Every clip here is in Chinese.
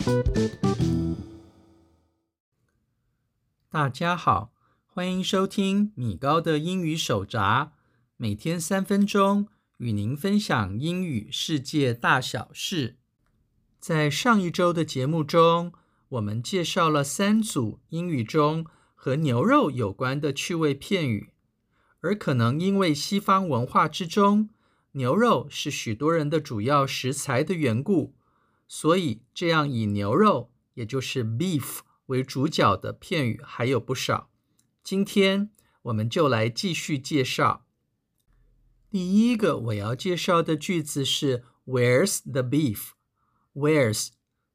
大家好，歡迎收聽米高的英語手札，每天3分鐘，與您分享英語世界大小事。在上一周的節目中，我們介紹了3組英語中和牛肉有關的趣味片語，而可能因為西方文化之中，牛肉是許多人的主要食材的緣故，所以這樣以牛肉，也就是 beef 為主角的片語還有不少。今天我們就來繼續介紹。第一個我要介紹的句子是 Where's the beef? Where's,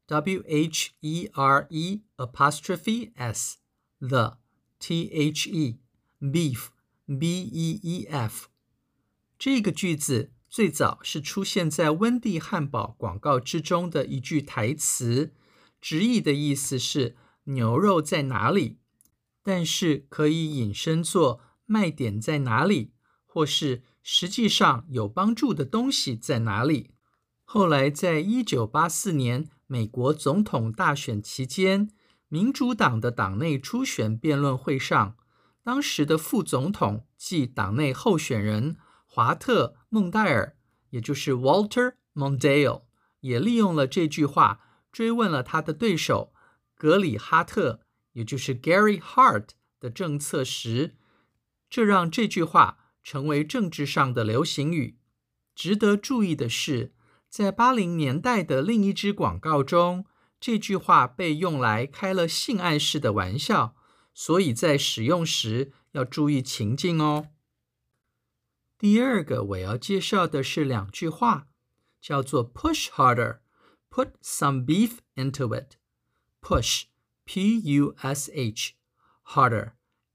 W-H-E-R-E apostrophe S, the, T-H-E, beef, B-E-E-F。這個句子最早是出現在溫蒂漢堡廣告之中的一句台詞，直譯的意思是牛肉在哪裡，但是可以引申作賣點在哪裡，或是實際上有幫助的東西在哪裡。後來在1984年美國總統大選期間，民主黨的黨內初選辯論會上，當時的副總統即黨內候選人華特·孟戴爾，也就是 Walter Mondale， 也利用了這句話追問了他的對手格里哈特，也就是 Gary Hart 的政策時，這讓這句話成為政治上的流行語。值得注意的是，在80年代的另一支廣告中，這句話被用來開了性暗示的玩笑，所以在使用時要注意情境哦。第二個我要介紹的是2句話，叫做 push harder, put some beef into it. Push, P-U-S-H, harder,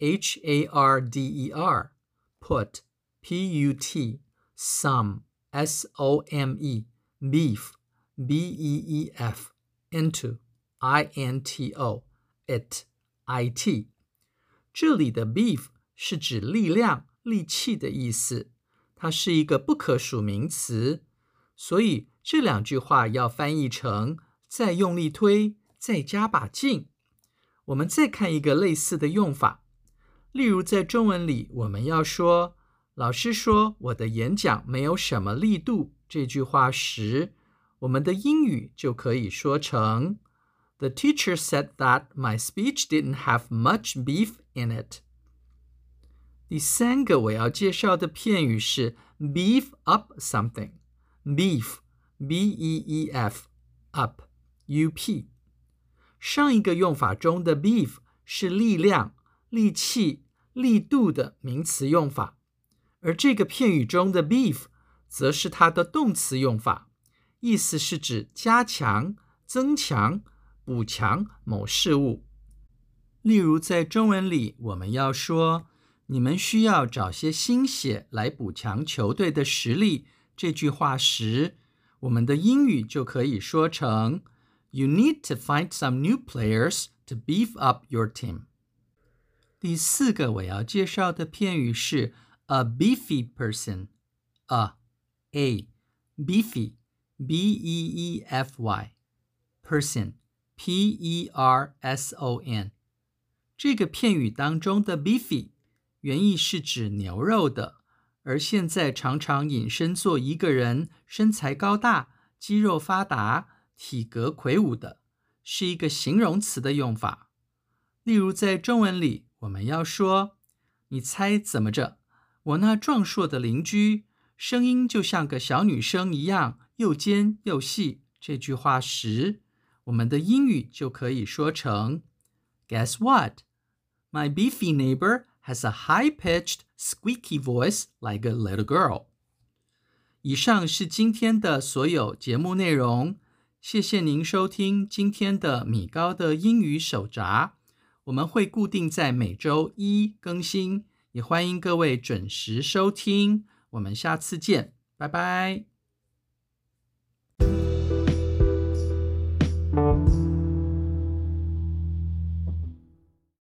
H-A-R-D-E-R, put, P-U-T, some, S-O-M-E, beef, B-E-E-F, into, I-N-T-O, it, I-T. 這裡的 beef 是指力量、力氣的意思，它是一個不可數名詞，所以這2句話要翻譯成再用力推，再加把勁。我們再看一個類似的用法，例如在中文裡，我們要說老師說我的演講沒有什麼力度這句話時，我們的英語就可以說成 The teacher said that my speech didn't have much beef in it. 第3個我要介紹的片語是 beef up something. Beef, B-E-E-F, up, U-P. 上一個用法中的 beef 是力量、力氣、力度的名詞用法，而這個片語中的 beef 則是它的動詞用法，意思是指加強、增強、補強某事物。例如在中文裡，我們要說你們需要找些新血來補強球隊的實力這句話時，我們的英語就可以說成 You need to find some new players to beef up your team. 第4個我要介紹的片語是 a beefy person. A, beefy, B-E-E-F-Y, person, P-E-R-S-O-N. 這個片語當中的 beefy 原意是指牛肉的，而現在常常引申作一個人身材高大、肌肉發達、體格魁梧的，是一個形容詞的用法。例如在中文裡，我們要說你猜怎麼着，我那壯碩的鄰居聲音就像個小女生一樣又尖又細這句話時，我們的英語就可以說成 Guess what? My beefy neighbor has a high-pitched, squeaky voice like a little girl. 以上是今天的所有節目內容，謝謝您收聽今天的米高的英語手札。我們會固定在每周1更新，也歡迎各位準時收聽。我們下次見，拜拜。